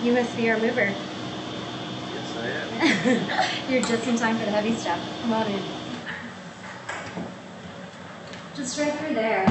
You must be our mover. Yes, I am. You're just in time for the heavy stuff. Come on in. Just right through there.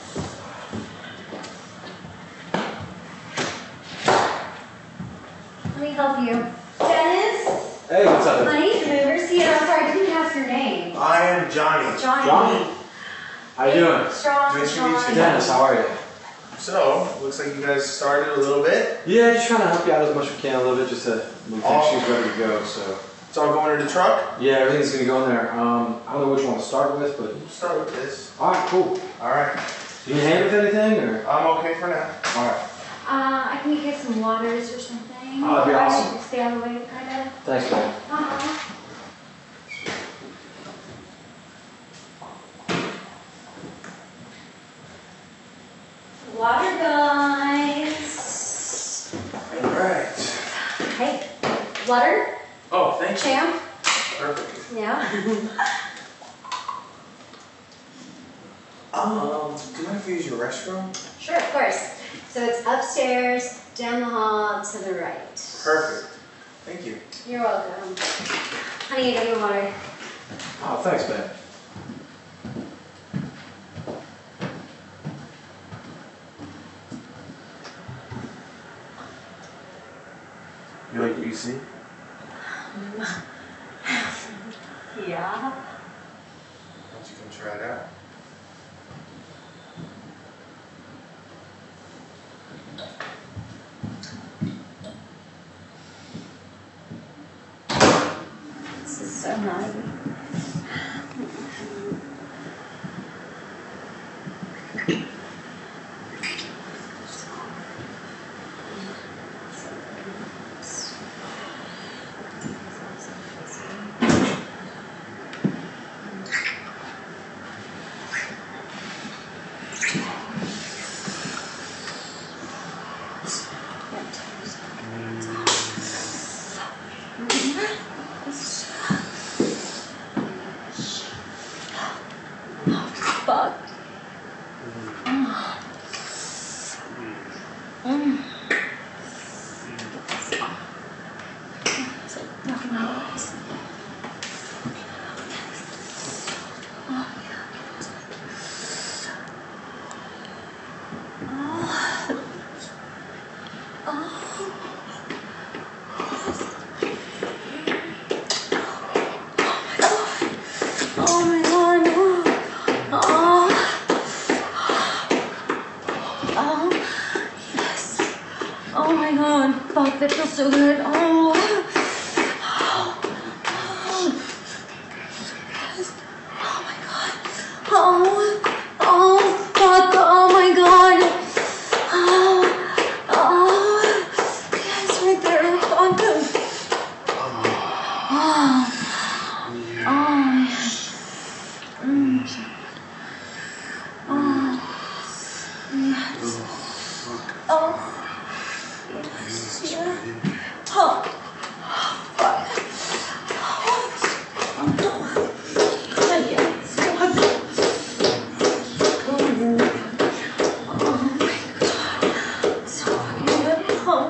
Let me help you. Dennis? Hey, what's up? Honey, the mover. See, I'm sorry, I didn't ask your name. I am Johnny. Johnny. How you doing? Strong, Nice to meet you. Dennis, how are you? So, looks like you guys started a little bit. Yeah, just trying to help you out as much as we can a little bit, just to move things ready to go. So It's all going in the truck? yeah, everything's gonna go in there. I don't know which one to start with, but We'll start with this. all right, cool. Alright. You need hand with anything, or I'm okay for now. all right? I can get some waters or something. Oh, that'd be awesome. Stay out of the way, kind of. Thanks, man. Water, guys. Alright. Hey, water, Oh, thank you. champ. Perfect. Yeah. Do you mind if we use your restroom? Sure, of course. So it's upstairs, down the hall, to the right. Perfect. Thank you. You're welcome. Honey, I got your water. Oh, thanks, man. You like what you see? Yeah. Why don't you come try it out? This is so naughty. Fuck. Oh my god. Oh. Oh. Yes. Oh my god. Fuck, that feels so good. Oh. Oh. Yes. Oh my god. Oh. Oh. Fuck. Oh my god. Oh. Oh. Yes, right there. Fuck. Oh. Oh. Yes. Oh. Yes. Oh. Yes. Yeah. Oh. Fuck. Oh no. God, yes. Fuck. Oh my god. So fucking good. Oh.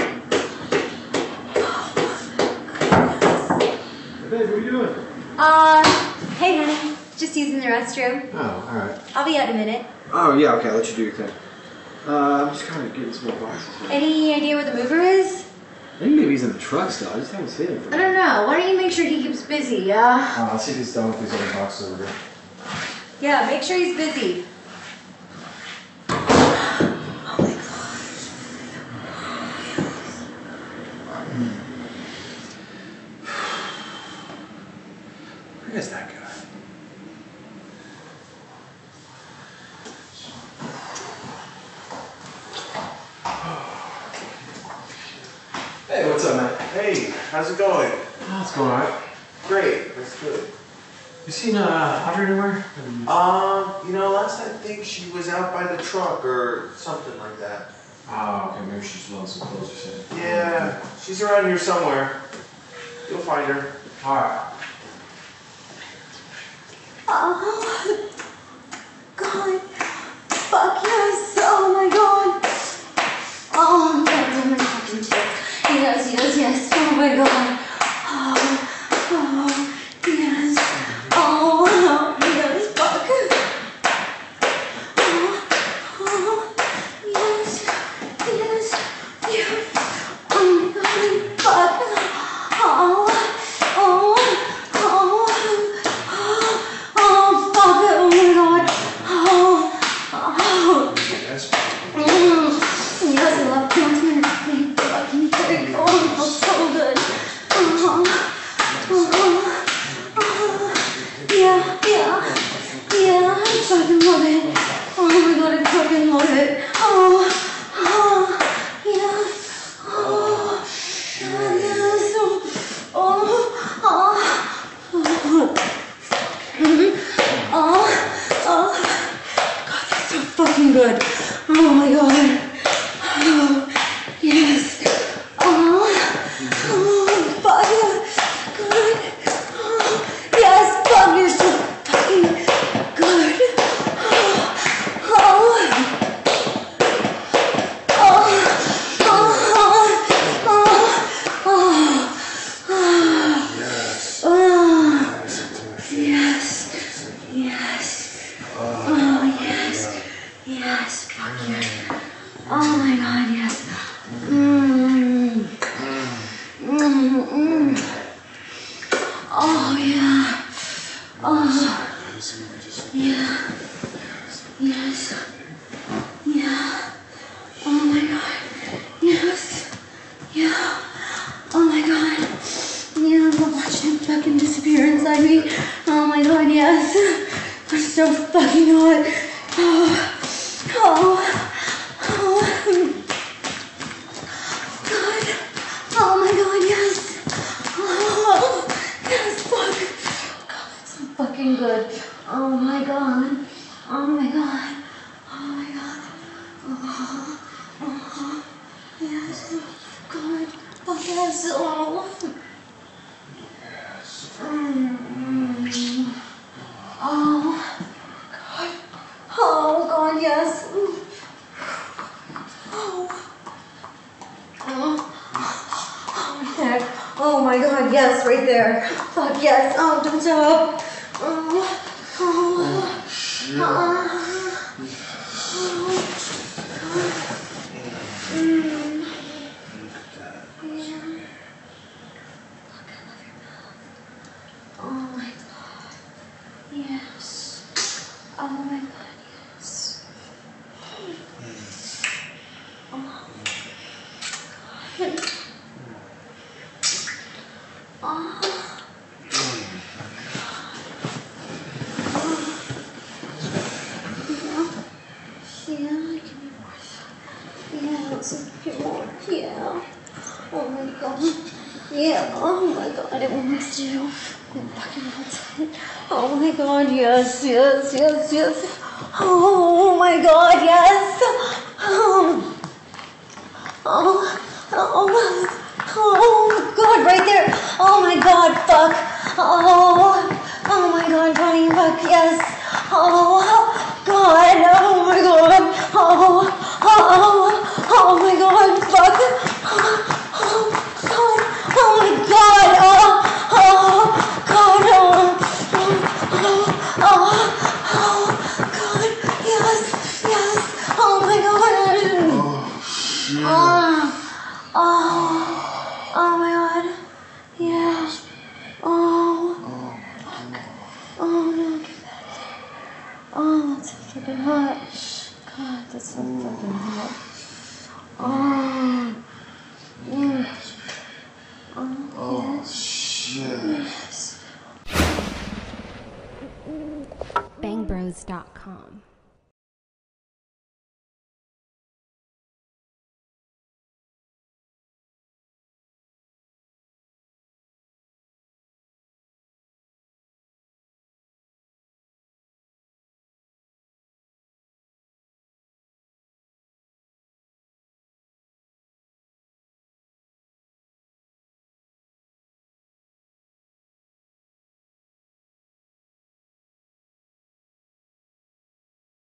Hey, babe, what are you doing? Hey honey. Just using the restroom. Oh, all right. I'll be out in a minute. Oh yeah, okay. I'll let you do your thing. I'm just kind of getting some more boxes here. Any idea where the mover is? I think maybe he's in the truck still. I just haven't seen him for I don't know. Why don't you make sure he keeps busy, yeah? I'll see if he's done with these other boxes over there. Yeah, make sure he's busy. Oh my Where is that guy? Hey, what's up, man? Hey, how's it going? Oh, it's going alright. Great, that's good. You seen Audrey anywhere? You know, last I think she was out by the truck or something like that. Oh, okay, maybe she's lost some clothes or something. Yeah, she's around here somewhere. You'll find her. Alright. Oh, God. Fuck yes. Oh my God. Oh, I'm gonna do my fucking shit. god. Oh, yes. Oh, yes, fuck. Yes, yes, yes. Oh my god, fuck. Oh, fuck it, oh my god. Yes. Yes, I love dancing. Fucking pig. Oh, it feels so good. Yeah, I fucking love it. Oh my god, I fucking love it. Yes. Yes. God, that's so fucking good. Oh my god. Yes. Fuck yeah. Good. Yes, fuck, you're so fucking good. Yes, fuck yeah. Oh my god, yes. Oh yeah. Oh yeah. Yes. Yeah. Oh my god. Yes. Yeah. Oh my god. Yeah, I'm watching him fucking disappear inside me. Oh my god, yes. I'm so fucking hot. God. Oh my god, yes. Yes, fuck. God, that's so fucking good. Oh my god. Oh my god. Oh my god. Yes. God. Fuck yes. Oh. Oh god, yes. Heck. Oh my god, yes, right there. Fuck yes. Oh, don't stop. Oh my god. Yes. Oh my god, yes. Yeah, let's see if you want. Yeah. Oh my god. Yeah. Oh my god, it will miss you. It fucking wants it. Oh my god, yes. Oh my god, yes. Oh god, right there. Oh my god, fuck. Oh my god, Bonnie, fuck, yes. Oh god, oh my god. Oh my god, fuck. Oh god, oh my god. God, god, yes. Oh my god. Oh my god. Yeah. Oh no, get back there. Oh, that's so fucking hot. God, that's so fucking hot. Yes. Shit. Yes. bangbros.com